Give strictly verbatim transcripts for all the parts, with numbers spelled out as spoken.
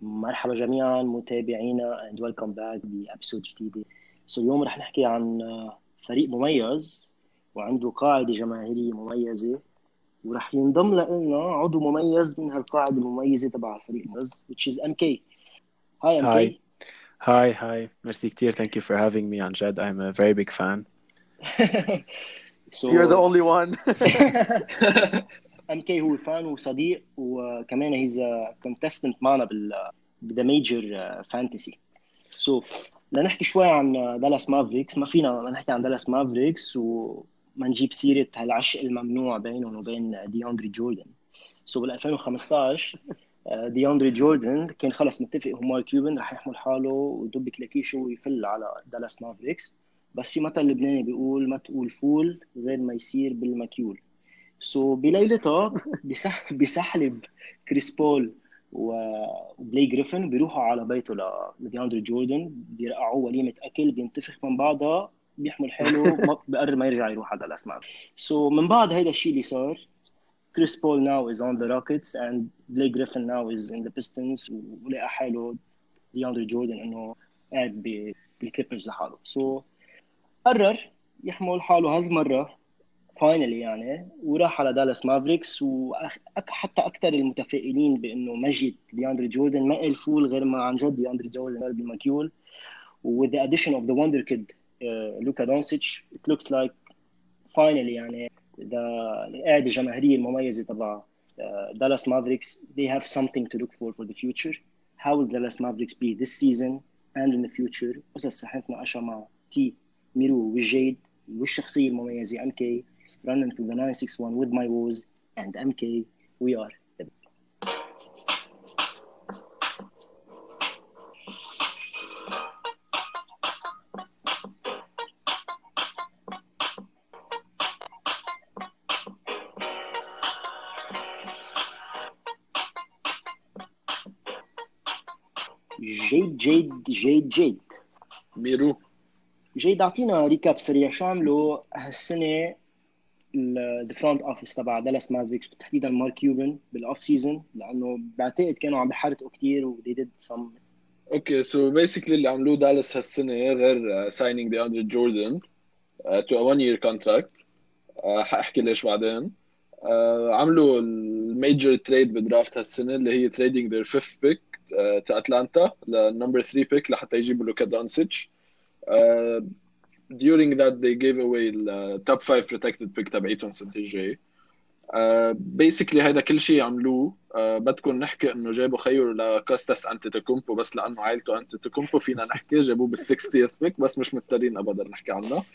مرحبا جميعا متابعينا and welcome back بأبسود جديدة. so اليوم رح نحكي عن آه، فريق مميز وعنده قاعدة جماهيرية مميزة، ورح ينضم لنا عضو مميز من هالقاعدة المميزة تبع الفريق المميز which is إم كي. Hi هاي إم كي. هاي هاي ميرسي كتير. thank you for having me. عن جد I'm a very big fan. You're the so only one. إم كي هو فان وصديق، وكمان he's a contestant معنا بال بذا ميجر فانتسي. سو لنحكي شوي عن دالاس مافريكس. ما فينا ما نحكي عن دالاس مافريكس وما نجيب سيرة هالعشق الممنوع بينهم وبين دياندري جوردن. سو بال ألفين وخمسطعش آه، دياندري جوردن كان خلص متفق هو مارك كيوبن رح يحمل حاله ودب كلاكيشه ويفل على دالاس مافريكس. بس في مثل لبناني بيقول ما تقول فول غير ما يصير بالمكيول. سو بليلتها بسح بسحلب كريس بول و- وبلاي جريفن بيروحوا على بيته ل- لدياندري جوردن، بيرقعوه وليمة أكل، بينتفخ من بعضها، بيحمل حاله، ما بقرر ما يرجع يروح على الأسماء. سو من بعد هيدا الشيء اللي صار، كريس بول now is on the Rockets and Blake Griffin now is in the Pistons، ولقى حاله دياندري جوردن إنه قاعد ب- بالكليبرز لحاله. سو قرر يحمل حاله هالمرة فاينلي يعني، وراح على دالاس مافريكس. وحتى اكثر المتفائلين بانه مجد دياندري جوردن ما قال فول غير ما عن جد دياندري جوردن صار بمكيول. with the addition of the wonder kid uh, لوكا دونسيتش it looks like finally يعني the القاعده الجماهيريه المميزه تبع دالاس مافريكس they have something to look for for the future. how will Dallas Mavericks be this season and in the future؟ بس هسه نتناقشها مع تي ميرو والجيد والشخصيه المميزه ام كي. running through the nine six one with my woes and إم كي. we are جيد جيد جيد جيد. ميرو. جيد اعطينا ريكاب سريع شو عملوا هالسنه ذا فرونت اوفيس تبع دالاس مافريكس، وتحديدا مارك كيوبن بالاوف سيزون، لانه بعتقد كانوا عم بحرقوا كثير و they did some. اوكي سو بيسكلي اللي عملوه دالاس هالسنه غير ساينينج دي اندري جوردن تو ا one year contract. آه، حاحكي ليش بعدين. آه، عملوا الميجر تريد بدرافت هالسنه اللي هي تريدينج their fifth pick تو اتلانتا للنمبر three pick لحتى يجيبوا لوكا دونسيتش. آه، during that they gave away the top five protected pick تبعيتهم السنه الجاي. بيسكلي هيدا كل شيء عملوه. uh, بدكم نحكي انه جابوا خيو لكوستاس انتيتوكومبو، بس لانه عائلته انتيتوكومبو فينا نحكي جابوه بال60th بيك، بس مش مضطرين ابدا نحكي عنه.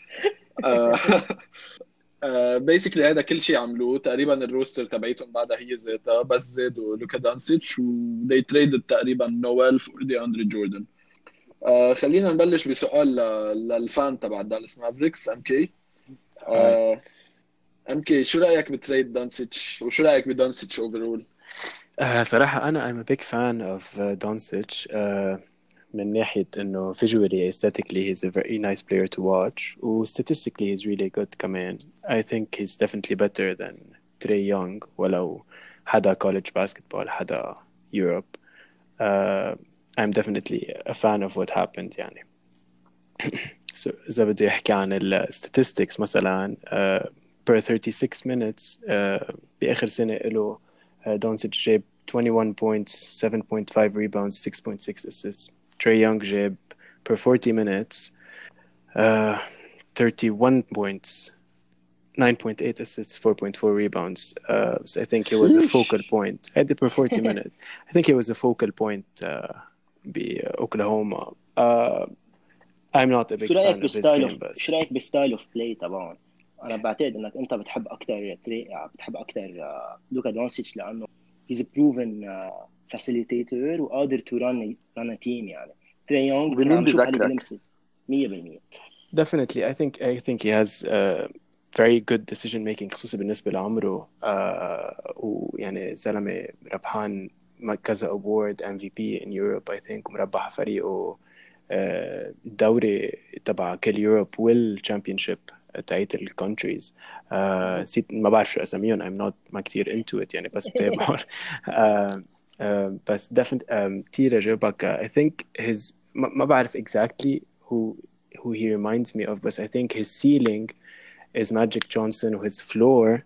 بيسكلي هيدا كل شيء عملوه تقريبا. الروستر تبعيتهم بعدها هي ذاتها، بس زادوا لوكا دانسيتش و they traded تقريبا نويل فور دي اندري جوردن. uh, خلينا نبلش بسؤال ل- للفان تبع دالاس مافريكس ام كي. هاي ام كي شو رايك بتريد دانسيتش وشو رايك بدانسيتش اوفرول؟ آه صراحة أنا I'm a big fan of uh, Doncic. آه من ناحية إنه visually aesthetically he's a very nice player to watch و statistically he's really good كمان. I think he's definitely better than Trey Young ولو حدا college basketball حدا Europe. uh, I'm definitely a fan of what happened يعني. So إذا بدي أحكي عن ال statistics مثلا uh, per thirty-six minutes uh, بآخر سنة له uh, دونسيتش جاب twenty-one points, seven point five rebounds, six point six assists. Trey Young جاب per forty minutes uh, thirty-one points, nine point eight assists, four point four rebounds. Uh, so I think he was a focal شيش. point. I did per forty minutes. I think he was a focal point uh, بأوكلاهوما. Uh, I'm not a شو big رايك fan of his بالستايل game اوف بس. شو رايك بالستايل اوف بلاي تبعهم؟ انا بعتقد انك انت بتحب اكثر تري... بتحب اكثر لوكا دونسيتش، لانه he's a proven uh, facilitator وقادر to run run a team يعني. تري يونغ كنا وبمين عم نشوف هالي بذكرك؟ جلمسز مية بالمية. Definitely I think I think he has uh, very good decision making خصوصا بالنسبة لعمره. uh, ويعني زلمة ربحان كذا award إم في بي in Europe I think ومربح فريقه uh, الدوري تبع كل يوروب والشامبيونشيب تاعت الكونتريز. uh, نسيت ما بعرف شو اساميهم. I'm not ما كتير into it يعني بس بتابعهم. uh, uh, بس definitely um, كتير Ibaka. I think his ما ما بعرف exactly who who he reminds me of, but I think his ceiling is Magic Johnson and his floor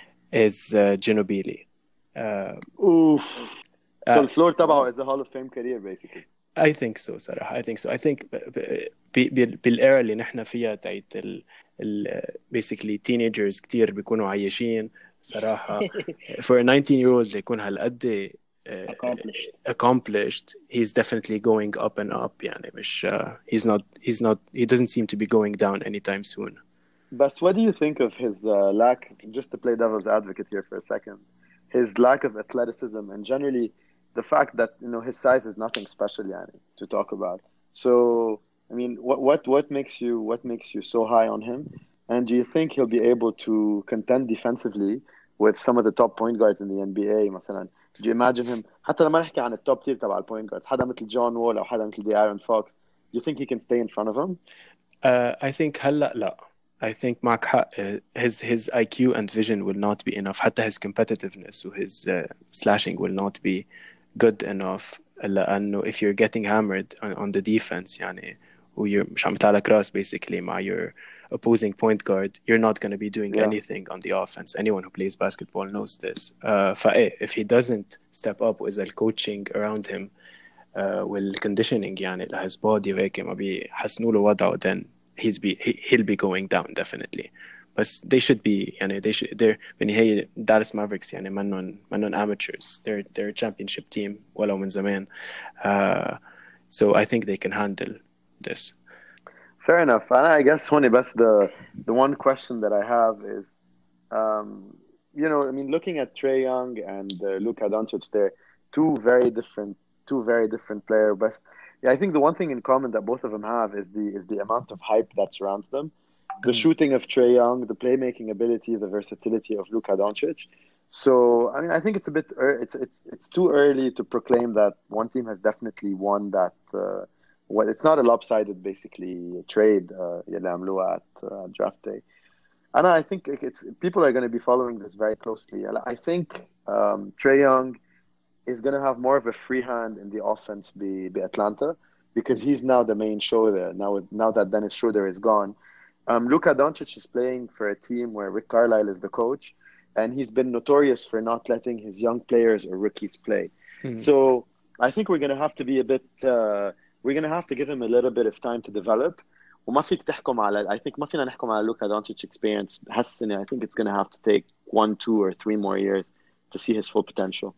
is uh, Ginobili. Uh, Oof. So uh, the floor تبعه is a Hall of Fame career basically. I think so صراحة. I think so. I think ب- ب- ب- بالإيرا اللي نحن فيها تاعت ال ال basically teenagers كتير بيكونوا عايشين صراحة. For a nineteen year old اللي يكون هالقد uh, accomplished. accomplished, he's definitely going up and up. يعني مش uh, he's not he's not he doesn't seem to be going down anytime soon. But what do you think of his uh, lack, just to play devil's advocate here for a second, his lack of athleticism and generally the fact that, you know, his size is nothing special yani, to talk about. So, I mean, what, what, what makes you, what makes you so high on him? And do you think he'll be able to contend defensively with some of the top point guards in the N B A مثلا? Do you imagine him, حتى لما نحكي عن التوب تير تبع البوينت جاردز، حدا مثل جون وول أو حدا مثل De'Aaron Fox, do you think he can stay in front of him? Uh, I think هلا لا. I think معك حق. His his I Q and vision will not be enough. حتى his competitiveness و his uh, slashing will not be good enough. لأنه if you're getting hammered on, on the defense يعني و you're مش عم يطلع لك راس basically مع your opposing point guard, you're not going to be doing Yeah. anything on the offense. Anyone who plays basketball knows this. Uh, فإيه if he doesn't step up with the coaching around him uh, والconditioning يعني ل his body وهيك ما بيحسنوا له وضعه, then he's be he, he'll be going down definitely. But they should be يعني they should they're بالنهاية Dallas Mavericks يعني منن منن amateurs. They're they're a championship team ولو من زمان. Uh, so I think they can handle this. Fair enough. And I guess Honey, best the the one question that I have is, um, you know, I mean, looking at Trae Young and uh, Luka Doncic, they're two very different, two very different players. But yeah, I think the one thing in common that both of them have is the is the amount of hype that surrounds them. The shooting of Trae Young, the playmaking ability, the versatility of Luka Doncic. So, I mean, I think it's a bit er- it's it's it's too early to proclaim that one team has definitely won that. Uh, well, it's not a lopsided basically trade uh, يلي عملوها at uh, draft day. And I think it's people are going to be following this very closely. I think um, Trae Young is going to have more of a free hand in the offense be, be Atlanta because he's now the main show there. Now, now that Dennis Schroeder is gone, um, Luka Doncic is playing for a team where Rick Carlisle is the coach, and he's been notorious for not letting his young players or rookies play. Hmm. So I think we're going to have to be a bit. Uh, we're going to have to give him a little bit of time to develop. وما فيك تحكم على I think ما فينا نحكم على Luka Doncic experience هالسنة. I think it's going to have to take one, two, or three more years to see his full potential.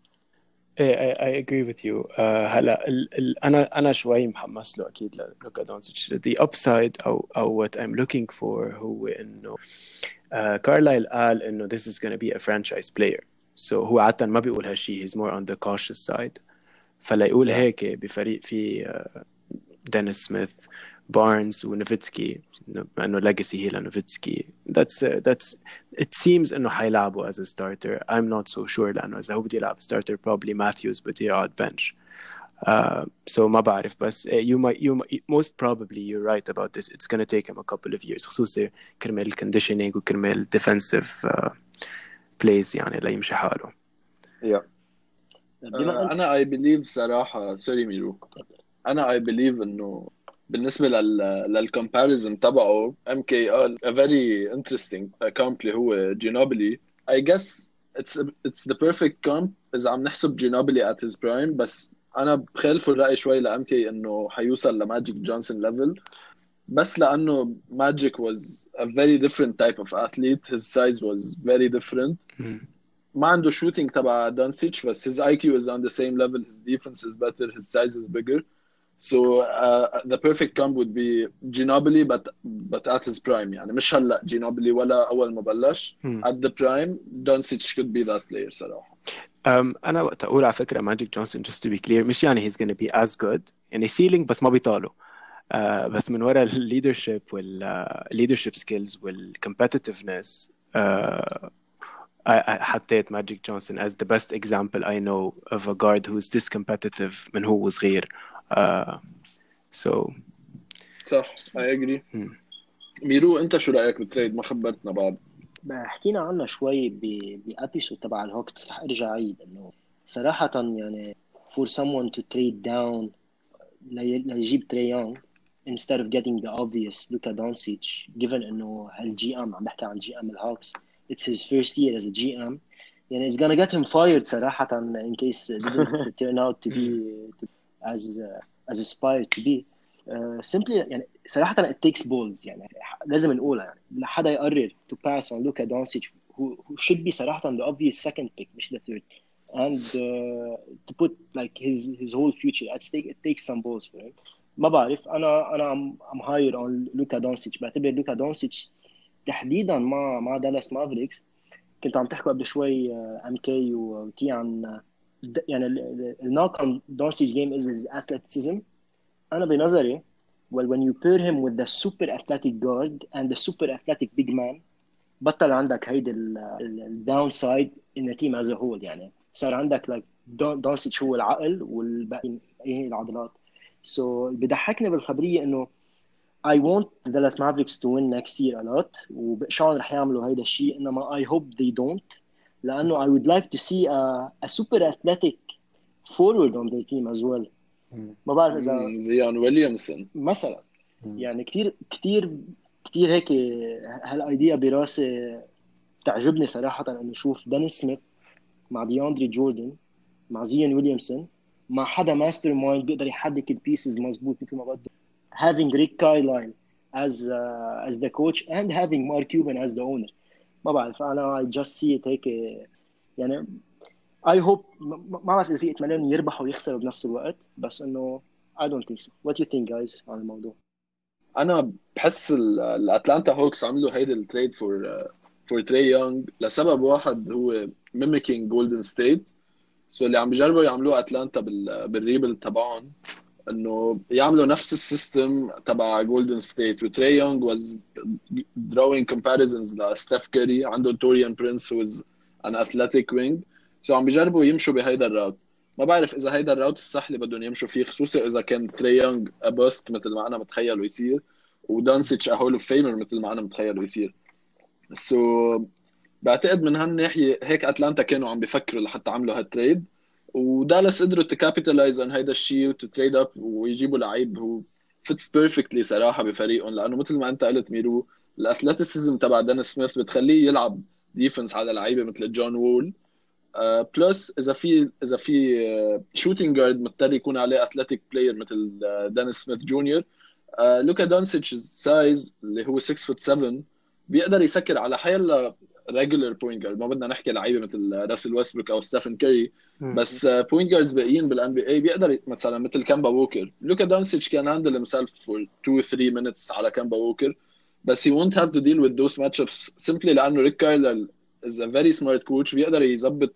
I, I agree with you. Uh, هلا ال, ال, أنا أنا شوي محمس له أكيد للوكا دونتش. The upside أو أو what I'm looking for هو إنه uh, Carlisle قال إنه this is going to be a franchise player. So هو عادة ما بيقول هالشيء. He's more on the cautious side. فلا يقول Yeah. هيك بفريق في uh, دينيس سميث بارنز ونوفيتسكي مع انه legacy هي لنوفيتسكي. That's uh, that's it seems انه حيلعبوا as a starter. I'm not so sure لانه اذا هو بده يلعب starter probably Matthews بده يقعد bench. Uh, so ما بعرف بس uh, you might you might, most probably you're right about this. It's going to take him a couple of years خصوصي كرمال conditioning وكرمال defensive uh, plays يعني ليمشي حاله. Yeah. آه، انا I believe صراحة سوري ميرو انا I believe انه بالنسبة لل للcomparison تبعه M K قال a very interesting comp اللي هو جينوبلي. I guess it's it's the perfect comp إذا عم نحسب جينوبلي at his prime. بس أنا بخالف الرأي شوي ل M K إنه حيوصل لماجيك جونسون level بس لأنه Magic was a very different type of athlete. His size was very different. Mm. ما عنده shooting تبع دونسيتش بس his I Q is on the same level. His defense is better. His size is bigger. So uh, the perfect comp would be Ginobili but but at his prime يعني مش هلا Ginobili ولا أول ما بلش. Hmm. At the prime Doncic could be that player صراحة. Um, أنا وقت أقول على فكرة ماجيك جونسون just to be clear مش يعني he's going to be as good يعني ceiling بس ما بيطاله. Uh, بس من وراء ال leadership وال uh, leadership skills وال competitiveness uh, I, I حطيت ماجيك جونسون as the best example I know of a guard who's this competitive من هو صغير. Uh, so صح I agree. hmm. ميرو أنت شو رأيك بالتريد؟ ما خبرتنا بعد. حكينا عنها شوي بأبيسود تبع الهوكس بس رح ارجع اعيد انه صراحة يعني for someone to trade down لي- ليجيب تري يونغ instead of getting the obvious Luka Doncic, given انه هالجي ام عم بحكي عن جي ام الهوكس, it's his first year as a G M, يعني it's gonna get him fired صراحة in case it didn't turn out to be to, as uh, as aspired to be. Uh, simply يعني صراحة it takes balls, يعني لازم نقولها, يعني لحدا يقرر to pass on Luka Doncic who, who should be صراحة the obvious second pick مش the third, and uh, to put like his his whole future at stake, it takes some balls for him. ما بعرف, انا انا ام ام هاير اون لوكا دونسيتش. بعتبر لوكا دونسيتش تحديدا مع مع دالاس مافريكس. كنت عم تحكوا قبل شوي ام كي وتي عن د- يعني الناق on دونسيتش game is his athleticism. انا بنظري well when you pair him with the super athletic guard and the super athletic big man, بطل عندك هيدي الداون سايد in the team as a whole. يعني صار عندك like دونسيتش هو العقل والباقي هي العضلات. so بضحكني بالخبريه انه I want the Dallas Mavericks to win next year a lot, وشلون رح يعملوا هيدا الشيء, انما I hope they don't, لانه I would like to see a, a super athletic forward on their team as well. ما بعرف اذا مم، زيان ويليامسون مثلا يعني كتير كتير كتير هيك هالايديا براسي تعجبني صراحه, انه اشوف داني سميث مع دياندري جوردن مع زيان ويليامسون مع حدا ماستر مايند بيقدر يحرك البيسز مزبوط مثل ما بده, having Rick Carlisle as uh, as the coach and having Mark Cuban as the owner. ما بعرف, انا I just see it هيك يعني. I hope ما ما بعرف اذا في اتمنى انه يربحوا ويخسروا بنفس الوقت, بس انه I don't think so. What do you think guys عن الموضوع؟ انا بحس ال- الاتلانتا هوكس عملوا هيدا التريد فور فور تري يونغ لسبب واحد, هو ميميكينج جولدن ستيت. سو اللي عم بيجربوا يعملوه اتلانتا بال بالريبل تبعهم انه يعملوا نفس السيستم تبع جولدن ستيت. وتري يونغ was drawing comparisons لستيف كاري, عنده توريان برينس who is an athletic wing. سو عم بيجربوا يمشوا بهيدا الراوت. ما بعرف اذا هيدا الراوت الصح اللي بدهم يمشوا فيه, خصوصا اذا كان تري يونغ ابوست مثل ما انا متخيل ويصير, ودانسيتش هول اوف فيمر مثل ما انا متخيل ويصير. سو بعتقد من هالناحيه هيك اتلانتا كانوا عم بيفكروا لحتى عملوا هالتريد, ودالاس قدروا تكابيتالايز عن هيدا الشيء وتتريد اب ويجيبوا لعيب هو فيتس بيرفكتلي صراحه بفريقهم, لانه مثل ما انت قلت ميرو, الاثليتيسيزم تبع دان سميث بتخليه يلعب ديفنس على لعيبه مثل جون وول. بلس اذا في اذا في شوتنج جارد مضطر يكون عليه اثليتيك بلاير مثل دان سميث جونيور. لوكا دونسيتش سايز اللي هو ستة فوت سبعة بيقدر يسكر على حيلا ريجولر بوينت جارد. ما بدنا نحكي لعيبه مثل راسل ويستبروك او ستيفن كاري, بس بوينت جاردز باقيين بالان بي اي بيقدر مثلا مثل كامبا ووكر. لوكا دونسيتش كان هاندل himself for two three minutes على كامبا ووكر, بس he won't have to deal with those matchups simply لانه ريك كايلر is a very smart coach, بيقدر يظبط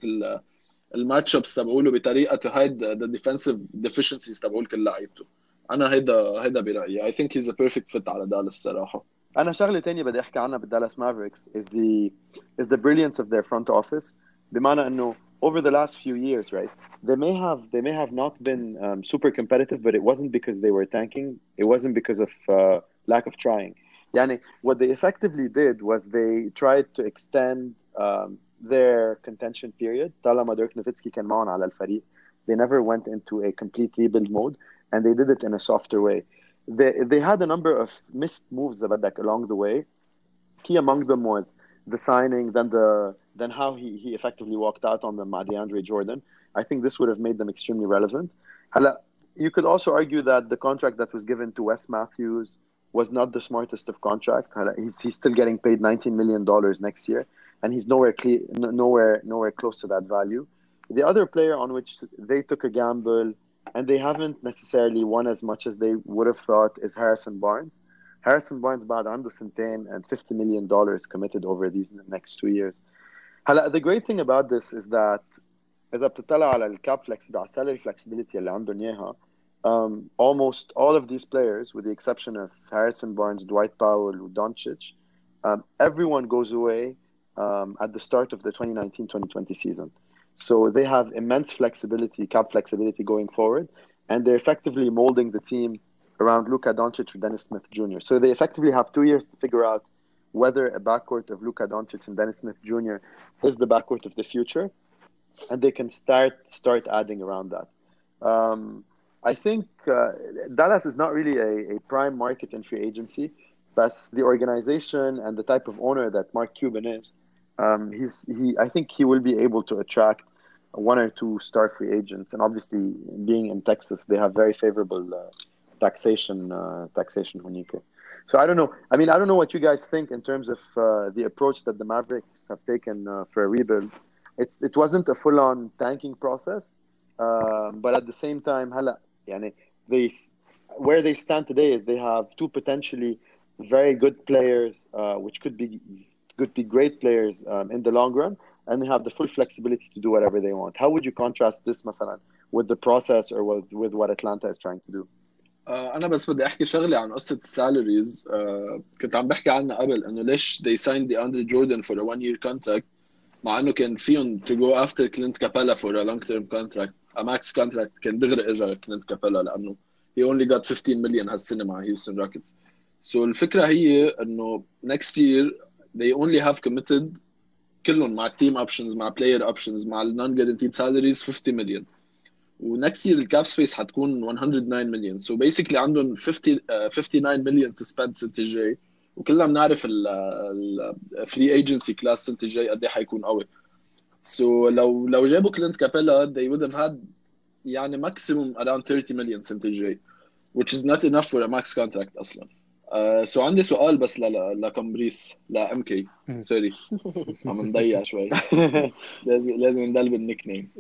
الماتش ابس تبعوله بطريقه to hide the defensive deficiencies تبعول كل لعيبته. انا هيدا هيدا برايي. I think he's a perfect fit على دالاس صراحه. أنا شغلة تانية بدي أحكي عنها بالدالاس مافريكس is the is the brilliance of their front office. بمعنى إنه over the last few years, right? They may have they may have not been um, super competitive, but it wasn't because they were tanking. It wasn't because of uh, lack of trying. يعني what they effectively did was they tried to extend um, their contention period. طالما ديرك نوفيتسكي كان معهم على الفريق, they never went into a complete rebuild mode, and they did it in a softer way. They they had a number of missed moves that along the way. Key among them was the signing, then the then how he he effectively walked out on them, DeAndre Jordan. I think this would have made them extremely relevant. Hala, you could also argue that the contract that was given to Wes Matthews was not the smartest of contract. Hala, he's he's still getting paid nineteen million dollars next year, and he's nowhere clear, nowhere nowhere close to that value. The other player on which they took a gamble and they haven't necessarily won as much as they would have thought is Harrison Barnes. Harrison Barnes بعد عنده سنتين and fifty million dollars committed over these next two years. هلا the great thing about this is that إذا بتطلع على الكاب flexibility على salary flexibility اللي عندهم إياها, um, almost all of these players with the exception of Harrison Barnes, Dwight Powell and Doncic, um, everyone goes away um, at the start of the twenty nineteen twenty twenty season. So they have immense flexibility, cap flexibility going forward, and they're effectively molding the team around Luka Doncic or Dennis Smith Junior So they effectively have two years to figure out whether a backcourt of Luka Doncic and Dennis Smith Junior is the backcourt of the future, and they can start start adding around that. Um, I think uh, Dallas is not really a, a prime market in free agency, but the organization and the type of owner that Mark Cuban is, um, he's he. I think he will be able to attract one or two star free agents, and obviously, being in Texas, they have very favorable uh, taxation uh, taxation هناك. So I don't know. I mean, I don't know what you guys think in terms of uh, the approach that the Mavericks have taken uh, for a rebuild. It's it wasn't a full-on tanking process, uh, but at the same time, هلا يعني they where they stand today is they have two potentially very good players, uh, which could be could be great players um, in the long run, and they have the full flexibility to do whatever they want. How would you contrast this, مثلا, with the process or with with what Atlanta is trying to do? آه، انا بس بدي احكي شغله عن قصه السالاريز. آه، كنت عم بحكي عنها قبل انه ليش they signed the Andre Jordan for a one year contract مع انه كان فيهم to go after Clint Capella for a long term contract, a max contract. كان دغري اجى كلينت كابيلا لانه he only got fifteen million هالسنه مع هيوستن روكيتس. So الفكره هي انه next year they only have committed كلهم مع team options مع player options مع non guaranteed salaries fifty million, ونكست يير الكاب سبيس حتكون one hundred nine million. So basically عندهم fifty uh, fifty-nine million to spend السنه الجاي، وكلنا بنعرف الفري ايجنسي كلاس السنه الجاي قد ايه حيكون قوي. So لو لو جابوا كلينت كابيلا they would have had يعني maximum around thirty million السنه الجاي, which is not enough for a max contract اصلا. uh, so عندي سؤال بس ل لكمبريس لا ام كي سوري عم نضيع شوي لازم لازم ندلب النيك نيم.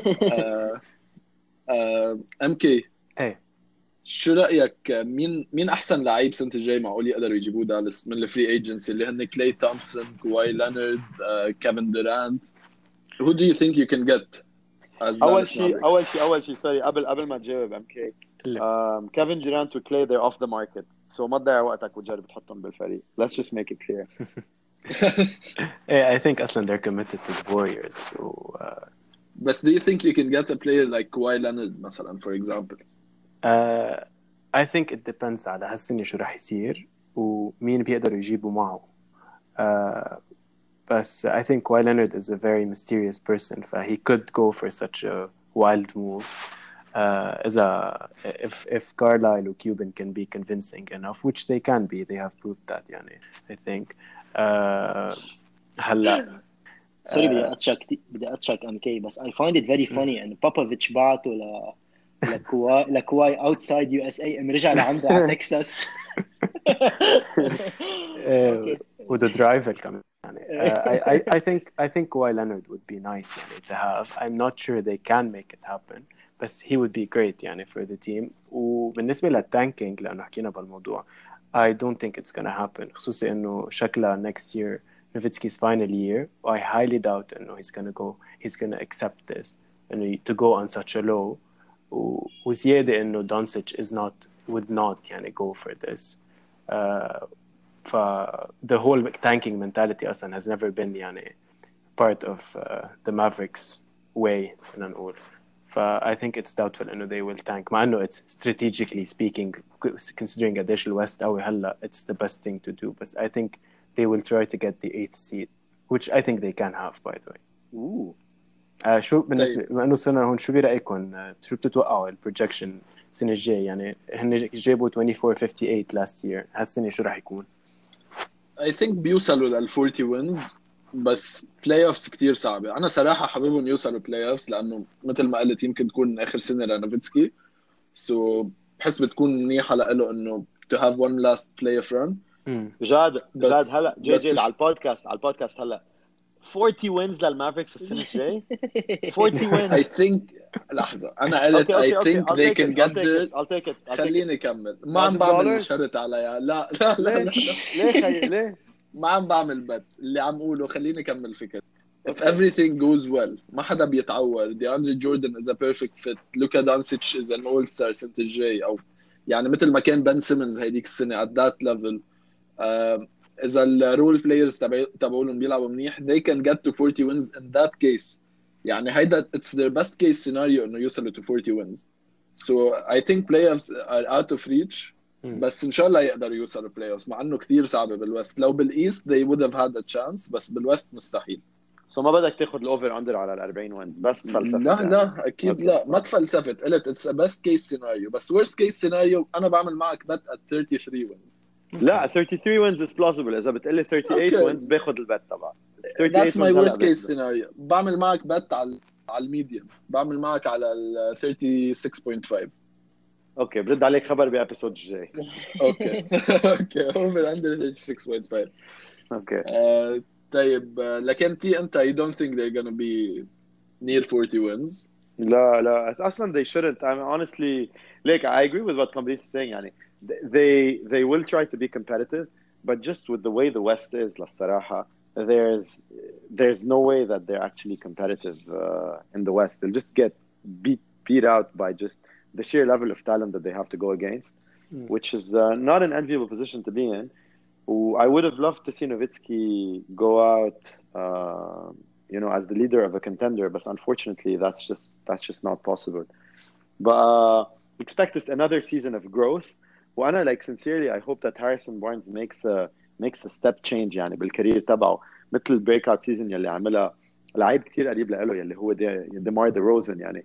ام كي ايه شو رايك مين مين احسن لعيب سنه الجاي معقول يقدروا يجيبوه دالاس من الفري ايجنسي اللي هن كلاي تومسون كواي لينارد كيفن دورانت؟ who do you think you can get as اول Dallas شيء Mavericks؟ اول شيء اول شيء سوري قبل قبل ما تجاوب ام كي، كيفن دورانت وكلاي they're off the market, so ما تضيع وقتك وتجرب تحطهم بالفريق. let's just make it clear. ايه I think اصلا they're committed to the Warriors. So uh, بس do you think you can get a player like Kawhi Leonard مثلا for example؟ uh, I think it depends على هالسنة شو راح يصير ومين بيقدروا يجيبوا معه. uh, بس I think Kawhi Leonard is a very mysterious person, so he could go for such a wild move. Uh, as a if if Carlisle or Cuban can be convincing enough, which they can be, they have proved that. يعني I think. Uh, هلا سوري بدي اتشك بدي اتشك ام كي بس I find it very funny ان بابوفيتش بعته ل لكواي لكواي اوتسايد يو اس اي ام رجع لعنده على تكساس. وذا درايفر كمان يعني. uh, I I I think I think Kawhi Leonard would be nice يعني to have. I'm not sure they can make it happen, بس he would be great يعني for the team. وبالنسبة للتانكينج لأنه حكينا بالموضوع, I don't think it's gonna happen, خصوصي إنه شكلها next year Nowitzki's final year. I highly doubt إنه he's gonna go he's gonna accept this إنه to go on such a low. وزيادة إنه Doncic is not would not يعني go for this. Uh, ف the whole tanking mentality أصلا has never been يعني part of uh, the Mavericks way خلينا نقول. ف I think it's doubtful إنه they will tank, مع إنه it's strategically speaking considering قديش الوست قوي هلا it's the best thing to do, but I think they will try to get the eighth seed, which I think they can have by the way. Ooh. آه شو بالنسبة بما إنه صرنا هون شو برأيكم شو بتتوقعوا البروجكشن السنة الجاية؟ يعني هن جابوا twenty-four fifty-eight last year, هالسنة شو راح يكون؟ I think بيوصلوا لل forty wins, بس بلاي اوفز كتير صعبة. أنا صراحة حاببهم يوصلوا بلاي اوفز لأنه مثل ما قلت يمكن تكون آخر سنة لنوفيتسكي, so بحس بتكون منيحة لإله إنه to have one last playoff run. جاد جاد بس هلا جي جي على البودكاست على البودكاست هلا forty wins للمافريكس السنة الجاي. forty wins. I think لحظة أنا قلت okay, I okay, think okay. they I'll can take get it. I'll take there. it. I'll take it. I'll take خليني it. كمل. ما عم بعمل شرط عليها. لا لا لا لا, لا. ليه خي... ليه ما عم بعمل بت اللي عم قوله. خليني كمل فكرة. If everything goes well ما حدا بيتعور. DeAndre Jordan is a perfect fit. Luka Doncic is an all-star سنة الجاي, أو يعني مثل ما كان بن سيمنز هيديك السنة at that level. uh, إذا الرول بلايرز تبعولهم بيلعبوا منيح they can get to forty wins in that case. يعني هيدا it's their best case scenario إنه يوصلوا to forty wins. So I think playoffs are out of reach. بس إن شاء الله يقدروا يوصلوا playoffs, مع إنه كثير صعبة بالوست. لو بالإيست they would have had a chance, بس بالوست مستحيل. سو ما بدك تاخذ الاوفر اندر على ال أربعين وينز بس تفلسفه لا يعني. لا اكيد أوكي. لا، ما تفلسفت، قلت اتس بيست كيس سيناريو، بس ورست كيس سيناريو انا بعمل معك بت at thirty-three wins. لا thirty-three wins is plausible. اذا بتقلي thirty-eight Okay. wins باخذ البت تبعك. That's my worst case wins scenario. بعمل معك بت على على الميديم، بعمل معك على ال thirty-six point five. اوكي برد عليك خبر بابيسود الجاي. اوكي اوكي over under thirty-six point five. اوكي آه، طيب آه، لكن تي انت you don't think they're gonna be near forty wins. لا لا اصلا they shouldn't. I mean, honestly like I agree with what Kamrit is saying يعني they they will try to be competitive but just with the way the West is للصراحة there's there's no way that they're actually competitive uh, in the West. They'll just get beat beat out by just the sheer level of talent that they have to go against, mm. which is uh, not an enviable position to be in. I would have loved to see Nowitzki go out uh, you know as the leader of a contender, but unfortunately that's just that's just not possible. But uh, expect us another season of growth. وانا like sincerely I hope that Harrison Barnes makes a makes a step change يعني بالكارير تبعه مثل البريك اوت سيزون يلي عملها لعيب كتير قريب له يلي هو DeMar DeRozan يعني.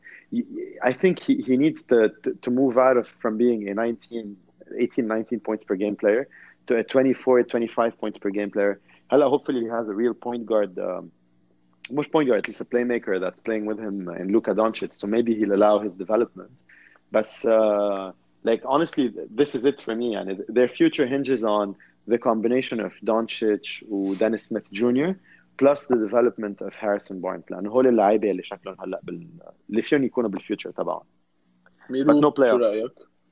I think he he needs to to, to move out of from being a nineteen eighteen nineteen points per game player to a twenty-four twenty-five points per game player. هلا hopefully he has a real point guard um, مش point guard at least a playmaker that's playing with him in Luka Doncic, so maybe he'll allow his development. But uh, like honestly this is it for me and their future hinges on the combination of Doncic and Dennis Smith Junior plus the development of Harrison Barnes لأنه هول اللاعبين اللي شكلهم هلا بال اللي فيهم يكونوا بالفيوتشر تبعهم. ميرو no شو playoffs. رأيك؟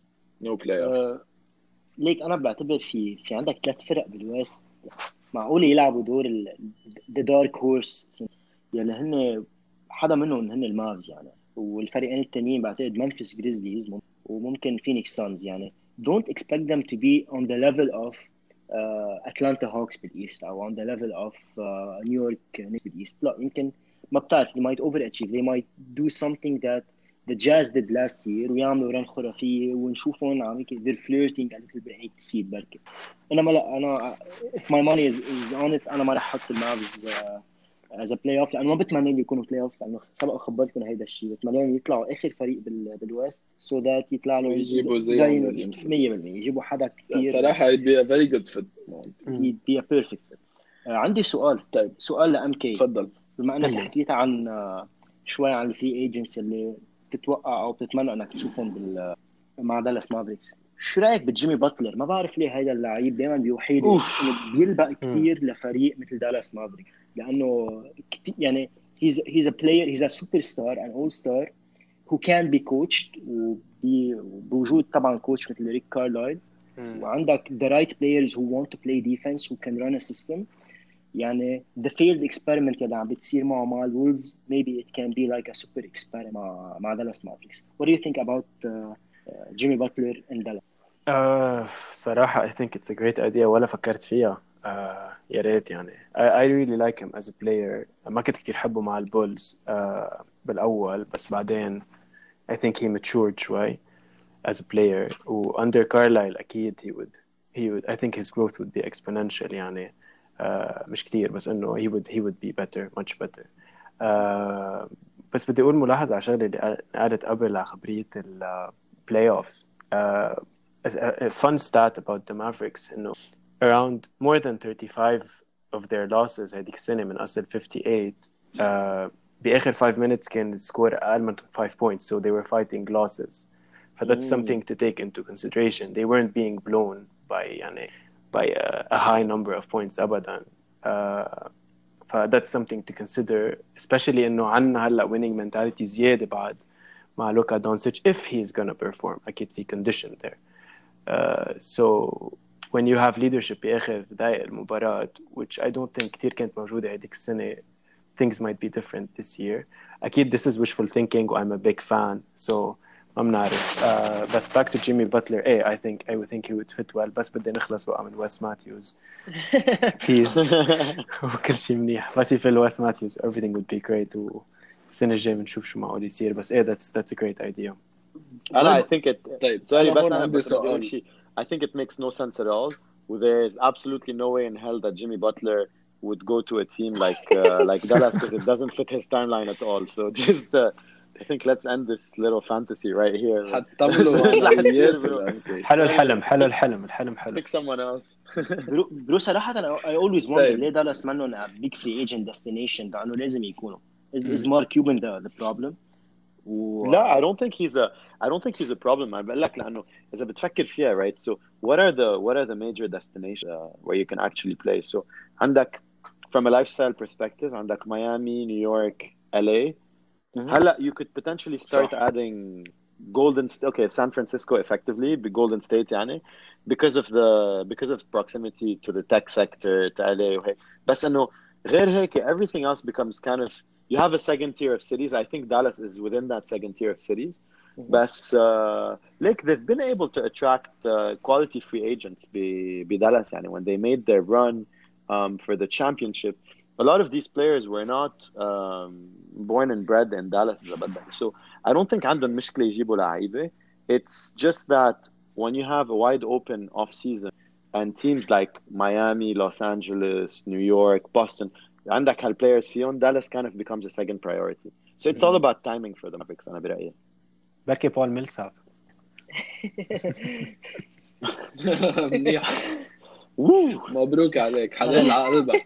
no playoffs. uh, ليك انا بعتبر في في عندك ثلاث فرق بالويست معقول يلعبوا دور ذا دارك هورس يلي هن حدا منهم هن المافز يعني، والفريقين التانيين بعتقد منفس جريزليز وممكن فينيكس سانز يعني. don't expect them to be on the level of uh, Atlanta Hawks بالإيست أو on the level of uh, New York Knicks بالإيست. لا يمكن ما بتعرف they might overachieve, they might do something that the Jazz did last year ويعملوا رن خرافية ونشوفهم عم they're flirting a little bit eight seed بركة. إنما لا أنا if my money is, is on it أنا ما رح أحط المافز uh, as a playoff لأنه ما بتمنى إن يكونوا playoffs لأنه سبق خبرتكم هيدا الشيء. بتمنى يطلعوا آخر فريق بال بالويست so that يطلع له يجيبوا زي زي ويليامسون مية بالمية يجيبوا حدا كتير صراحة it'd be a very good fit. he'd be a perfect fit. uh, عندي سؤال طيب سؤال لأم كي. تفضل. بما انك هلا. حكيت عن uh, شوي عن الفري ايجنتس اللي بتتوقع او بتتمنى انك تشوفهم بال مع دالاس مافريكس، شو رايك بجيمي باتلر؟ ما بعرف ليه هيدا اللعيب دائما بيوحي لي انه بيلبق كثير لفريق مثل دالاس مافريكس لانه كتير يعني he's he's a player, he's a superstar an all star who can be coached وبوجود طبعا كوتش مثل ريك كارلايل وعندك the right players who want to play defense who can run a system. يعني the failed experiment اللي عم بتصير معه مع الولفز maybe it can be like a super experiment مع مع دالاس مافريكس. What do you think about uh, uh, Jimmy Butler in Dallas? Uh, صراحة I think it's a great idea ولا فكرت فيها. uh, يا ريت يعني I, I really like him as a player. ما كنت كتير حبه مع البولز uh, بالأول بس بعدين I think he matured شوي as a player و under Carlisle أكيد he would he would I think his growth would be exponential يعني. Uh, مش كتير بس إنه he would he would be better much better. uh, بس بدي أقول ملاحظة على شغلة اللي قالت قبل على خبرية ال playoffs. uh, a, a fun stat about the Mavericks إنه around more than thirty-five of their losses هذيك السنة من أصل fifty-eight uh, بآخر five minutes كان السكور أقل من five points so they were fighting losses. So that's Mm. something to take into consideration. They weren't being blown by يعني by a, a high number of points أبدا. uh, ف that's something to consider especially إنه عنا هلا winning mentality زيادة بعد مع لوكا دونسيتش if he's gonna perform أكيد في condition there. uh, so when you have leadership بآخر دقائق المباراة which I don't think كتير كانت موجودة هذيك السنة things might be different this year. أكيد this is wishful thinking و I'm a big fan so ما بنعرف. uh, بس back to Jimmy Butler eh, I think I would think he would fit well بس بدي نخلص بقى من ويس ماتيوز please. وكل شيء منيح بس يفل ويس ماتيوز everything would be great والسنة الجاية بنشوف شو معقول يصير بس eh that's that's a great idea. أنا I think it طيب sorry أنا بس هون أنا عندي بس بدي أقول سؤال. شيء. I think it makes no sense at all. There is absolutely no way in hell that Jimmy Butler would go to a team like uh, like Dallas because it doesn't fit his timeline at all. So just uh, I think let's end this little fantasy right here. حتعملوا عمليات ولا حلو الحلم حلو الحلم الحلم حلو. Pick someone else. برو, برو صراحة أنا I always wonder طيب. ليه دالاس منهم a big free agent destination لأنه لازم يكونوا. Is is Mark Cuban the the problem? و... لا I don't think he's a I don't think he's a problem. أنا بقول لك لأنه إذا بتفكر فيها right. So what are the what are the major destinations uh, where you can actually play? So عندك from a lifestyle perspective عندك Miami, New York, L A. هلا you could potentially start صح. adding Golden State. Okay, San Francisco effectively be Golden State يعني because of the because of proximity to the tech sector to L A وهيك. بس إنه غير هيك everything else becomes kind of you have a second tier of cities. I think Dallas is within that second tier of cities. But uh, like they've been able to attract uh, quality free agents be be Dallas يعني when they made their run um, for the championship. A lot of these players were not um, born and bred in Dallas. So I don't think عندهم مشكلة يجيبوا لعيبة. It's just that when you have a wide open off season and teams like Miami, Los Angeles, New York, Boston, عندك هالplayers فيهم, Dallas kind of becomes a second priority. So it's all about timing for the Mavericks أنا برأيي. بلكي بول ميلساب. منيح. مبروك عليك حلال على قلبك.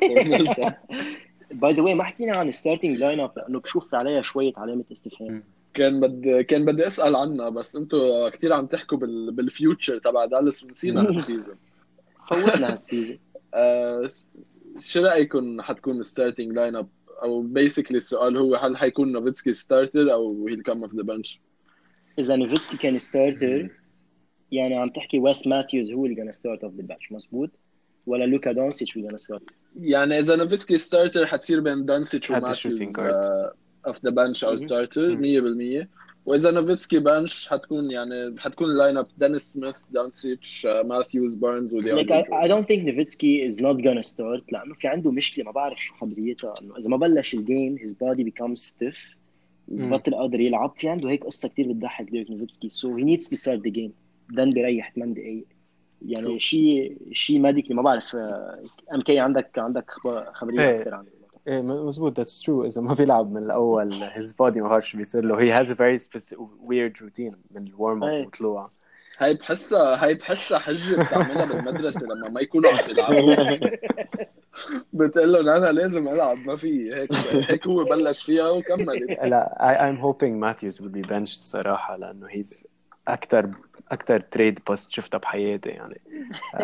باي ذا واي ما حكينا عن ستارتنج لاين اب لانه بشوف عليها شويه علامه استفهام. كان بدي كان بدي اسال عنها بس انتوا كثير عم تحكوا بال... بالفيوتشر تبع دالاس ونسينا هالسيزون. فوتنا هالسيزون. آه شو رايكم حتكون ستارتنج لاين اب او بيسكلي السؤال هو هل حيكون نوفيتسكي ستارتر او هيل كم اوف ذا بنش؟ اذا نوفيتسكي كان ستارتر يعني عم تحكي ويس ماثيوز هو اللي كان ستارت اوف ذا بنش مزبوط ولا لوكا دونسيتش اللي كان ستارت؟ يعني اذا نوفيتسكي ستارتر حتصير بين دونسيتش وماثيوز اوف ذا بنش او ستارتر مية بالمية. واذا نوفيتسكي بنش حتكون يعني حتكون اللاين اب دينيس سميث دونسيتش ماثيوز بارنز ودي. like I, I don't think Nowitzki is not gonna start لانه في عنده مشكله ما بعرف شو خبريتها انه اذا ما بلش الجيم his body becomes stiff وبطل قادر يلعب. في عنده هيك قصه كتير بتضحك ديريك نوفيتسكي so he needs to start the game then بيريح ثمان دقائق يعني شيء شيء ميديكلي ما بعرف. ام كي عندك عندك خبريه اكثر عن الموضوع. ايه مزبوط that's true. اذا ما بيلعب من الاول his body ما بعرف شو بيصير له. he has a very specific weird routine من الورم اب وطلوع. هاي بحسها هاي بحسها حجه بتعملها بالمدرسه لما ما يكونوا عم يلعبوا بتقول لهم انا لازم العب ما في هيك هيك هو بلش فيها وكمل. لا I, I'm hoping Matthews will be benched صراحه لانه he's اكثر اكثر تريد بوست شفتها بحياتي يعني uh,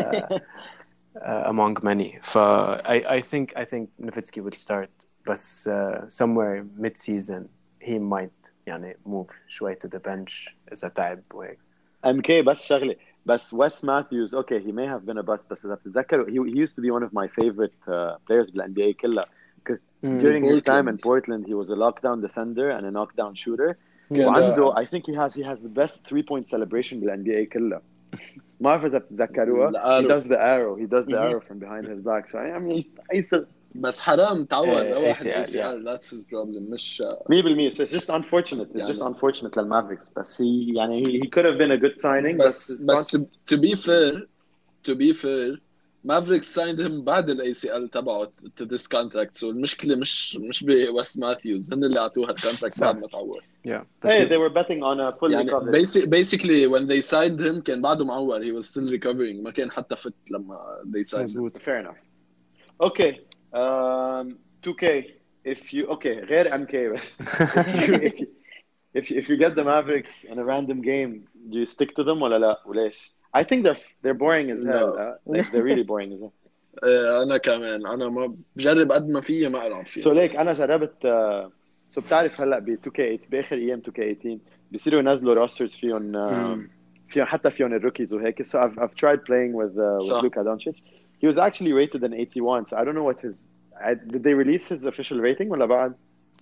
uh, among many. ف I I think I think Nowitzki would start بس uh, somewhere mid season he might يعني move شوي to the bench إذا تعب وهيك. M K بس شغلة بس Wes Matthews okay he may have been a bust بس إذا بتتذكر he, he used to be one of my favorite uh, players بالإن بي إيه كلها because mm. during his time in Portland he was a lockdown defender and a knockdown shooter. وعنده I think he has he has the best three point celebration بالإن بي إيه كلها. ما أعرف إذا بتتذكروها. He does the arrow he does the arrow from behind his back so I mean I used to بس حرام تعود واحد A C L that's his problem مش مية بالمية. so it's just unfortunate it's يعني. just unfortunate للمافريكس بس he يعني he, he could have been a good signing بس بس, بس to, to be fair to be fair Mavericks signed him بعد ال A C L تبعه to this contract so المشكلة مش مش بويس ماثيوز هن اللي عطوه هالكونتراكت بعد ما تعور. yeah hey they were betting on a full يعني recovery. Basic, basically when they signed him كان بعده معور he was still recovering ما كان حتى fit لما they signed him. fair enough. okay um two K if you okay غير M K بس if you if you if you, if you get the Mavericks in a random game do you stick to them ولا لا وليش؟ I think they're they're boring as hell. No. Uh, like, they're really boring as hell. أنا كمان أنا ما بجرب قد ما فيه ما ألعب فيه. So like أنا جربت uh, so بتعرف هلا ب two K eight بآخر أيام two K eighteen بيصيروا ينزلوا rosters فيهم uh, فيهم حتى فيهم الروكيز وهيك. So I've I've tried playing with uh, with Luka Doncic. He was actually rated an eighty-one. So I don't know what his I, did they release his official rating ولا بعد؟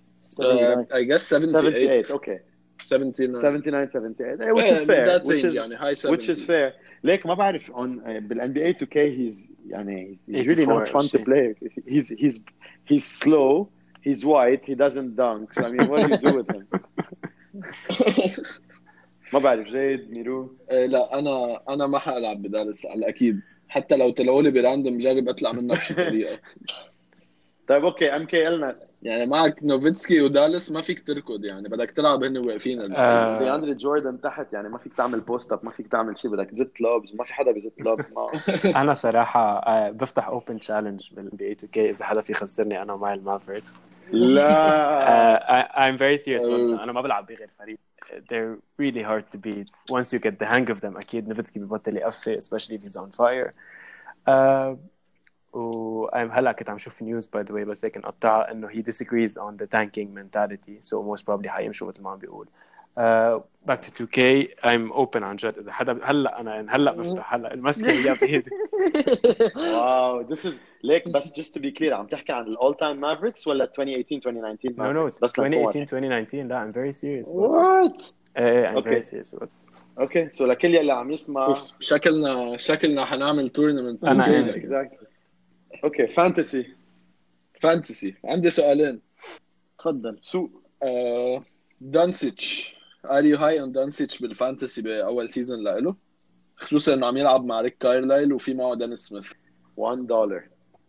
Uh, I guess seventy-eight. seventy-eight. Okay. seventy-nine. seventy-nine, seventy-eight. Which yeah, is fair. That which range is يعني high seventies. Which is fair. ليك ما بعرف on بالإن بي إيه two K he's يعني he's, he's really not fun to play. He's he's he's slow. He's white. He doesn't dunk. So I mean, what do you do with him? ما بعرف زيد ميرو. لا أنا أنا ما حألعب بدالس على أكيد. حتى لو تلولي براندوم جرب أطلع منك بشي طريقة. طيب اوكي ام كي قلنا يعني معك نوفيتسكي ودالس ما فيك تركض، يعني بدك تلعب هن واقفين آه. دي اندري جوردن تحت، يعني ما فيك تعمل بوست اب، ما فيك تعمل شيء، بدك تزت لوبز وما في حدا بيزت لوبز معه. انا صراحه آه بفتح اوبن تشالنج بال بي تو كي اذا حدا في يخسرني انا ومع المافريكس. لا uh, I'm very serious about أوف. this. أنا ما بلعب بغير فريق. They're really hard to beat once you get the hang of them. أكيد نوفيتسكي ببطل يقفل especially if he's on fire. uh, و I'm هلا كنت عم شوف news by the way بس هيك نقطعها إنه he disagrees on the tanking mentality, so most probably حيمشوا مثل ما عم بيقول. uh, back to تو كي I'm open عن جد إذا حدا هلا أنا هلا بفتح هلا المسكة هي بإيدي. واو this is ليك بس just to be clear عم تحكي عن all time Mavericks ولا twenty eighteen twenty nineteen no no Mavericks؟ بس twenty لنكون eighteen twenty nineteen لا I'm very serious about what this. uh, I'm Okay. very serious about this. اوكي سو لكل يلي عم يسمع اوف شكلنا شكلنا حنعمل تورنمنت. أنا إن. exactly اوكي فانتسي فانتسي عندي سؤالين. تفضل. سو آه دانسيتش ار يو هاي اون دانسيتش بالفانتسي باول سيزون له، خصوصا انه عم يلعب مع ريك كايرلايل وفي معه دانيس سميث. one dollar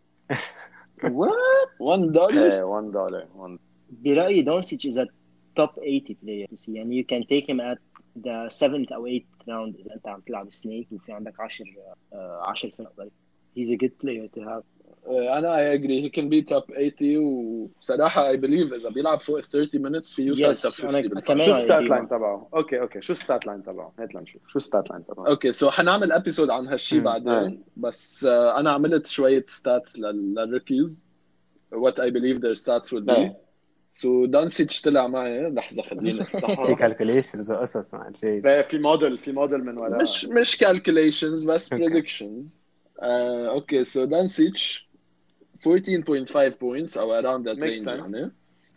What؟ واحد دولار. ايه one dollar one برأيي دونسيتش is a top eighty player، يعني you can take him at the seventh أو eighth round إذا أنت عم تلعب سنيك وفي عندك عشر عشر فرق. He's a good player to have. آه انا اي اجري هي كان بي توب ثمانين، وصراحه اي بليف اذا بيلعب فوق ثلاثين minutes في يوصل Yes، توب أنا خمسين كمان شو بالفانتسي. I الستات agree لاين معك. تبعه؟ اوكي اوكي شو الستات لاين تبعه؟ هات لنشوف شو الستات لاين تبعه. اوكي سو حنعمل ابيسود عن هالشي مم. بعدين، آه. بس آه انا عملت شويه ستاتس للروكيز what I believe their stats would be. ايه سو دانسيتش طلع معي، لحظه خليني في افتحها. calculations وقصص مع الجيد. ايه في موديل في موديل من وراء. مش مش calculations بس Okay. predictions. آه اوكي سو دانسيتش fourteen point five points او around that Makes range sense. يعني.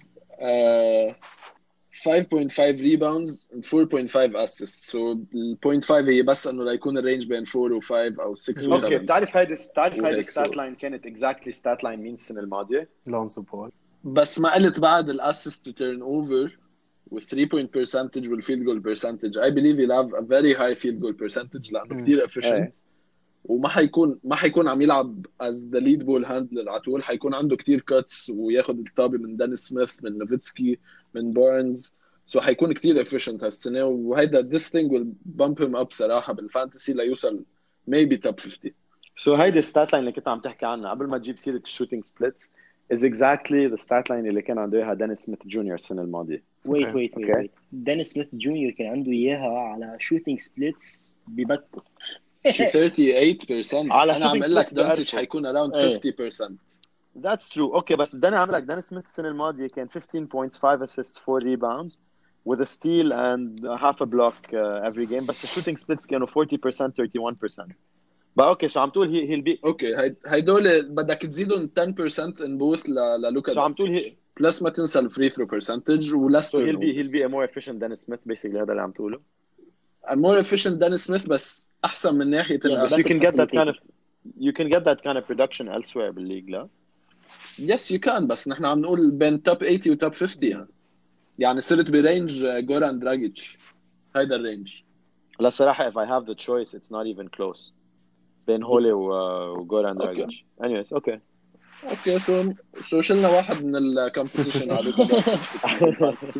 آه five point five rebounds and four point five assists. so ال point five هي بس انه ليكون الرينج بين four و five او six و اوكي seven. بتعرف هيدي بتعرف هيدي وهيك الستات so. لاين كانت exactly ستات لاين مين السنه الماضيه؟ لونزو بول. بس ما قلت بعد الاسيست to turn over with three point percentage والfield goal percentage. I believe he'll have a very high field goal percentage لانه مم. كتير efficient. ايه وما حيكون ما حيكون عم يلعب as the lead ball handler على طول، حيكون عنده كتير cuts وياخد الطابة من دانيس سميث من نوفيتسكي من بارنز. سو so حيكون كتير efficient هالسنة، وهيدا this thing will bump him up صراحة بالفانتسي ليوصل maybe top fifty. سو هيدي الستات لاين اللي كنت عم تحكي عنها قبل ما تجيب سيره الشوتينج سبليتس is exactly the stat line اللي كان عنده اياها دانيس سميث جونيور السنه الماضيه. wait Okay. wait wait Okay. wait دانيس سميث جونيور كان عنده إياها على shooting splits ببكر. thirty-eight percent. على أنا عم shooting أقول لك splits دانسيتش بقرفه. حيكون around إيه. fifty percent. That's true. اوكي بس بدنا نعمل لك دانيس سميث السنه الماضيه كان fifteen points five assists four rebounds with a steal and half a block uh, every game. بس الشوتينج سبليتس كانوا forty percent thirty-one percent. بقى اوكي شو عم تقول هي هي البي اوكي هي هيدول بدك تزيدهم ten percent in both ل- للوكا شو عم تقول دانسيتش. هي بلس ما تنسى الفري ثرو برسنتج ولس so he'll be turnovers. he'll be a more efficient than Smith basically هذا اللي عم تقوله. more efficient than Smith بس احسن من ناحيه Yes, But الاسيست. you can get that facilitating. kind of you can get that kind of production elsewhere بالليج لا. يس يو كان، بس نحن عم نقول بين توب ثمانين وتوب خمسين يعني. يعني صرت برينج جوران دراجيتش هيدا الرينج. لا صراحة if I have the choice it's not even close بين هولي و- وجوران أوكي. دراجيتش. anyways اوكي اوكي سو سو شلنا واحد من الكومبيتيشن على لوكا دانسيتش.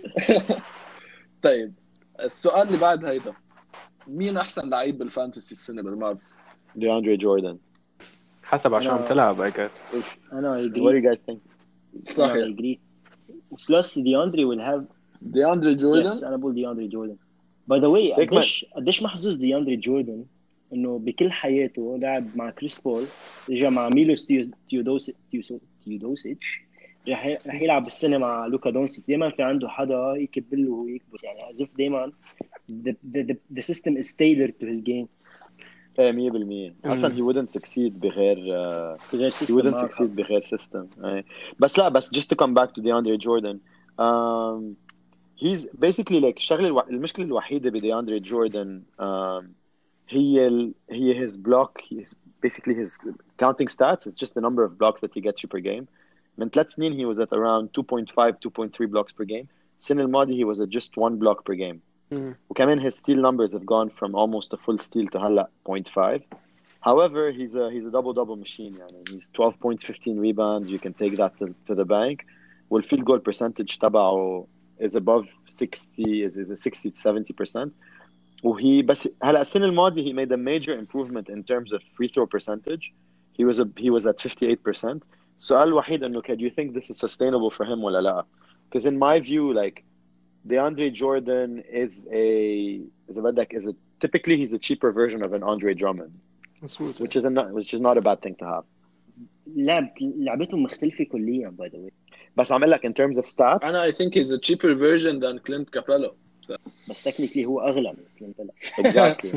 طيب السؤال اللي بعد هيدا، مين احسن لعيب بالفانتسي السنه بالمابس؟ DeAndre Jordan. حسب عشان عم أنا- تلعب I guess. أنا What do agree. you guys think? أنا صحيح. agree. Plus DeAndre will have دي اندري yes جوردن. أنا بقول DeAndre Jordan. by the way هيك ما- قديش قديش محظوظ DeAndre Jordan إنه بكل حياته لعب مع كريس بول، رجع مع ميلوس تيو- تيودوس تيوسو- تيودوسيتش، رح ي- رح يلعب السنة مع لوكا دونسيتش. دايما في عنده حدا يكبل له ويكبس، يعني as if دايما the, the, the, the system is tailored to his game. ايه مية بالمية اصلا he wouldn't succeed بغير uh, في غير he system wouldn't معك succeed حق. بغير system. ايه. بس لا بس just to come back to DeAndre Jordan um, he's basically like الشغله الو... المشكله الوحيده ب DeAndre Jordan um, هي ال... هي his block his basically his counting stats is just the number of blocks that he gets you per game. من ثلاث سنين he was at around two point five two point three blocks per game. السنه الماضيه he was at just one block per game. مم. وكمان his steal numbers have gone from almost a full steal to هلا point five. However, he's a he's a double double machine. يعني he's twelve points, fifteen rebounds. You can take that to, to the bank. والfield goal percentage تبعه is above sixty, is is sixty to seventy percent. وهي بس هلا السنة الماضية he made a major improvement in terms of free throw percentage. He was a he was at fifty-eight percent. السؤال الوحيد إنه do you think this is sustainable for him ولا لا? Because in my view, like DeAndre Jordan is a is a بدك is a typically he's a cheaper version of an Andre Drummond, مظبوط. which is a not, which is not a bad thing to have. لعب لعبتهم مختلفة كليا by the way. بس عم لك in terms of stats. أنا I think he's a cheaper version than Clint Capella. بس technically هو أغلى من كلينت. Exactly.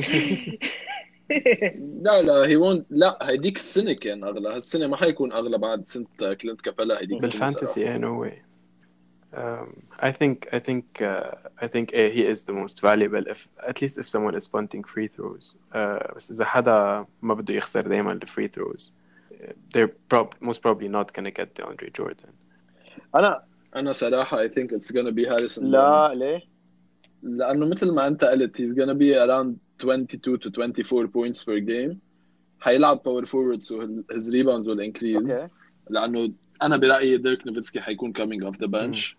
لا لا he won't. لا هيديك السنة كان أغلى. هالسنة ما حيكون أغلى بعد سنة كلينت كابيلا. هيديك السنة بالفانتسي yeah, no way. Um, I think I think uh, I think uh, he is the most valuable if at least if someone is punting free throws. Uh, بس إذا حدا ما بده يخسر دايما ال free throws, they're prob- most probably not gonna get DeAndre Jordan. أنا أنا صراحة I think it's gonna be Harrison لا Barnes. ليه؟ لأنه مثل ما أنت قلت he's gonna be around twenty-two to twenty-four points per game. حيلعب power forward so his rebounds will increase. Okay. لأنه أنا برأيي ديرك نوفيتسكي حيكون coming off the bench.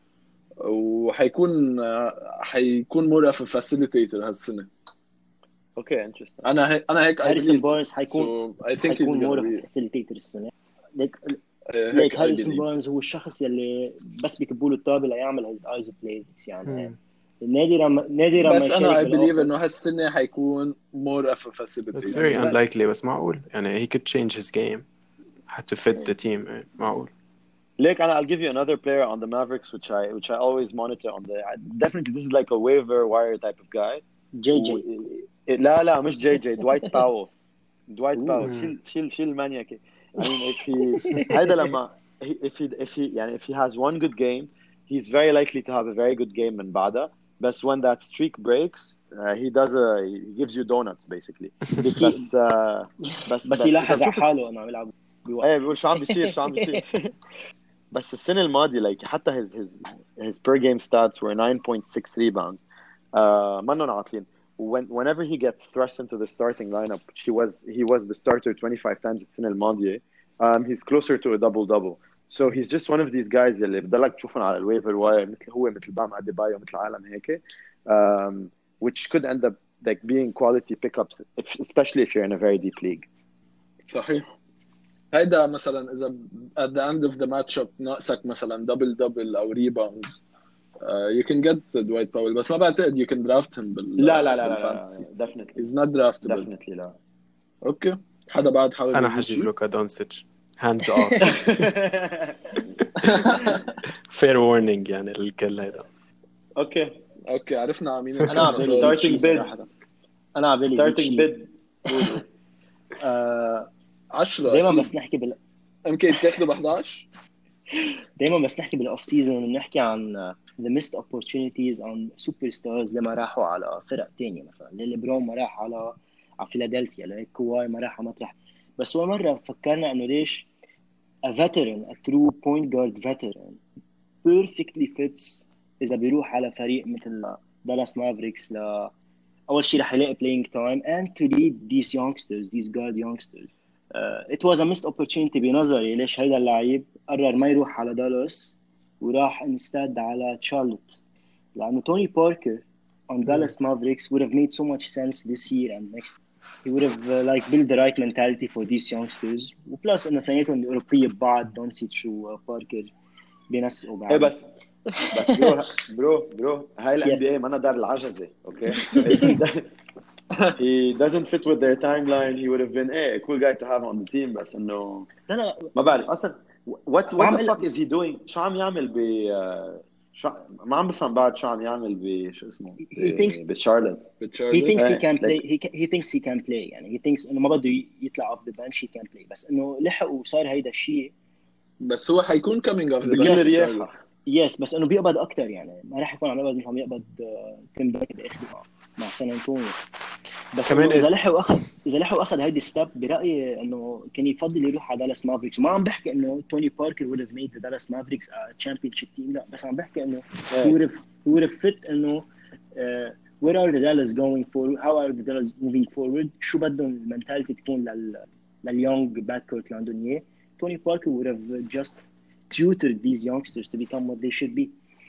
وحيكون حيكون more of a facilitator هالسنة. Okay, interesting. أنا هيك أنا هيك I هاريسون believe. بارنز حيكون So I think he's حيكون gonna more be. facilitator السنة. ليك هيك ليك I هاريسون believe. بارنز هو الشخص يلي بس بيكبوا له الطابة ليعمل his eyes plays يعني. Hmm. نادرا ما نادرا ما بس أنا I يشارك believe إنه بالأوفنس. هالسنة حيكون more of a That's facilitator. very Yeah. unlikely بس معقول يعني he could change his game had to fit the team. معقول. Like, I'll give you another player on the Mavericks, which I which I always monitor on the. Definitely, this is like a waiver wire type of guy. جي جي. لا لا مش جي جي. Dwight Powell. Dwight Ooh. Powell. شيل شيل شيل مانياكي. I mean, if he هيدا لما if he if he يعني if he has one good game, he's very likely to have a very good game من بعدها. But when that streak breaks, uh, he does a he gives you donuts basically. بس uh, بس بس يلاحظ على حاله انه عم يلعب بوقت. ايه بيقول شو عم بيصير شو عم بيصير. بس السنة الماضية like حتى his his his per game stats were nine point six rebounds. Uh, منن عاطلين. When whenever he gets thrust into the starting lineup, he was he was the starter twenty-five times السنة الماضية. Um, he's closer to a double double. So he's just one of these guys اللي بضلك تشوفهم على الويفر واير مثل هو مثل بام أديبايو مثل عالم هيك. Um, which could end up like being quality pickups, if, especially if you're in a very deep league. صحيح. هيدا مثلا إذا at the end of the matchup ناقصك مثلا double double أو rebounds, uh, you can get Dwight Powell. بس ما بعتقد you can draft him بال لا لا لا بالفانتسي. لا definitely He's not draftable. definitely لا. أوكي. حدا بعد حاول أنا يزيد حجيب شيء؟ لوكا دونسيتش hands off. fair warning يعني الكل هيدا. Okay. أوكي عرفنا عمين. انا عم بالي starting bid. انا عم بالي starting bid. آه عشرة. دايما بس نحكي بال يمكن تاخده ب إحدى عشر. دايما بس نحكي بالاوف سيزون بنحكي عن the missed opportunities on superstars لما راحوا على فرق تانية مثلا ليبرون ما راح على على فيلادلفيا لكواي ما راح على مطرح. بس هو مرة فكرنا انه ليش a veteran a true point guard veteran perfectly fits إذا بيروح على فريق مثل دالاس مافريكس. ل أول شيء رح يلاقي playing time and to lead these youngsters these guard youngsters. uh, it was a missed opportunity بنظري. ليش هيدا اللعيب قرر ما يروح على دالاس وراح instead على تشارلوت؟ لأنه توني باركر on Dallas Mavericks would have made so much sense this year and next. He would have uh, like built the right mentality for these youngsters. وبلس إنه اثنيناتهم أوروبية ببعض دونسيتش وباركر بينسقوا بعض. ايه بس بس برو برو برو هاي ال Yes. إن بي إيه ما دار العجزة. Okay. So it's, he doesn't fit with their timeline. He would have been hey, a cool guy to have on the team. بس إنه لا لا ما بعرف أصلا what what وعم the قل- fuck is he doing. شو عم يعمل ب uh, شو ما عم بفهم بعد شو عم يعمل ب شو اسمه He thinks- بشارلوت. he thinks he Hey, can play like- he, can, he thinks he can play يعني he thinks إنه ما بده ي- يطلع off the bench he can play. بس إنه لحق وصار هيدا الشيء. بس هو حيكون coming off the بقل bench. رياحة. يس بس إنه بيقبض أكتر يعني ما راح يكون عم يقبض مثل عم يقبض تيم داك بآخر مع مع سان أنطونيو. بس كمان إنه إذا إيه- لحق وأخذ إذا لحق وأخذ هيدي ستيب برأيي إنه كان يفضل يروح على دالاس مافريكس. وما عم بحكي إنه توني باركر would have made the Dallas Mavericks a championship team. لا بس عم بحكي إنه he would have he would have fit إنه uh, where are the Dallas going forward, how are the Dallas moving forward, شو بدهم المنتاليتي تكون لل لليونج باكورت اللي عندهم اياه. Tony Parker would have just tutored these youngsters to become what they should be.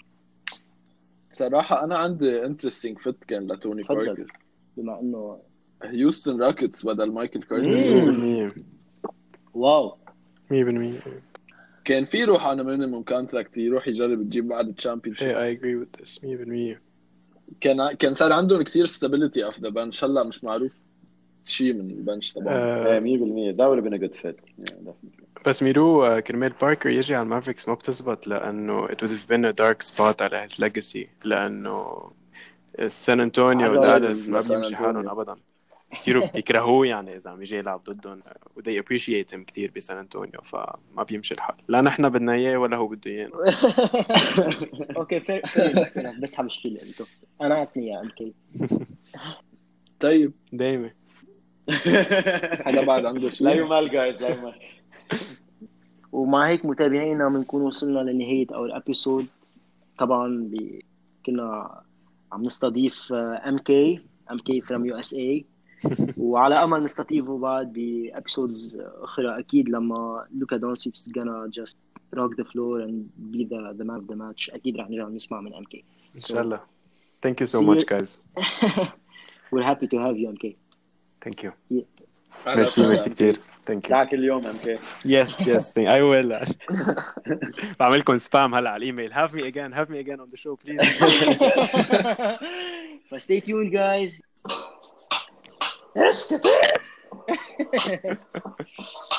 صراحة أنا عندي interesting fit كان لتوني تفضل. باركر. بما انه هيوستن راكيتس بدل مايكل كارتر. مية بالمية واو مية بالمية. كان في يروح على مينيموم كونتراكت يروح يجرب يجيب بعد الشامبيونشيب. Hey, I agree with this مية بالمية. كان كان صار عندهم كتير stability اوف ذا بنش. هلا مش معروف شيء من البنش طبعا. آه، مية بالمية that would have been a good fit. Yeah, definitely. بس ميرو آه، كرمال باركر يجي على المافريكس ما بتزبط لأنه it would have been a dark spot على his legacy لأنه سان أنطونيو عدو ودالاس ما سان بيمشي أنطونيو. حالهم أبدا. بصيروا بيكرهوه يعني إذا عم يجي يلعب ضدهم و they appreciate him كتير بسان أنطونيو فما بيمشي الحال. لا نحن بدنا إياه ولا هو بده إيانا. اوكي فير فير بس مشكلة انتو انا عطني يا ام كي. طيب دايما هذا بعد عنده لا شيء. يمال guys لا يمال. ومع هيك متابعينا بنكون وصلنا لنهاية اور ابيسود. طبعا ب... كنا عم نستضيف ام كي ام كي from يو اس اي وعلى امل نستضيفه بعد بابيسودز اخرى اكيد لما لوكا دونتشيتش is gonna just rock the floor and be the the man of the match. اكيد رح نرجع نسمع من ام كي. إن شاء الله. Thank you so See much you. guys. We're happy to have you ام كي. Thank you. أهلا ميرسي وسهلا. ميرسي كتير. Thank you. دعك اليوم ام كي. Yes yes thank I will. بعملكم سبام هلا على الإيميل. Have me again. Have me again on the show please. But stay tuned guys.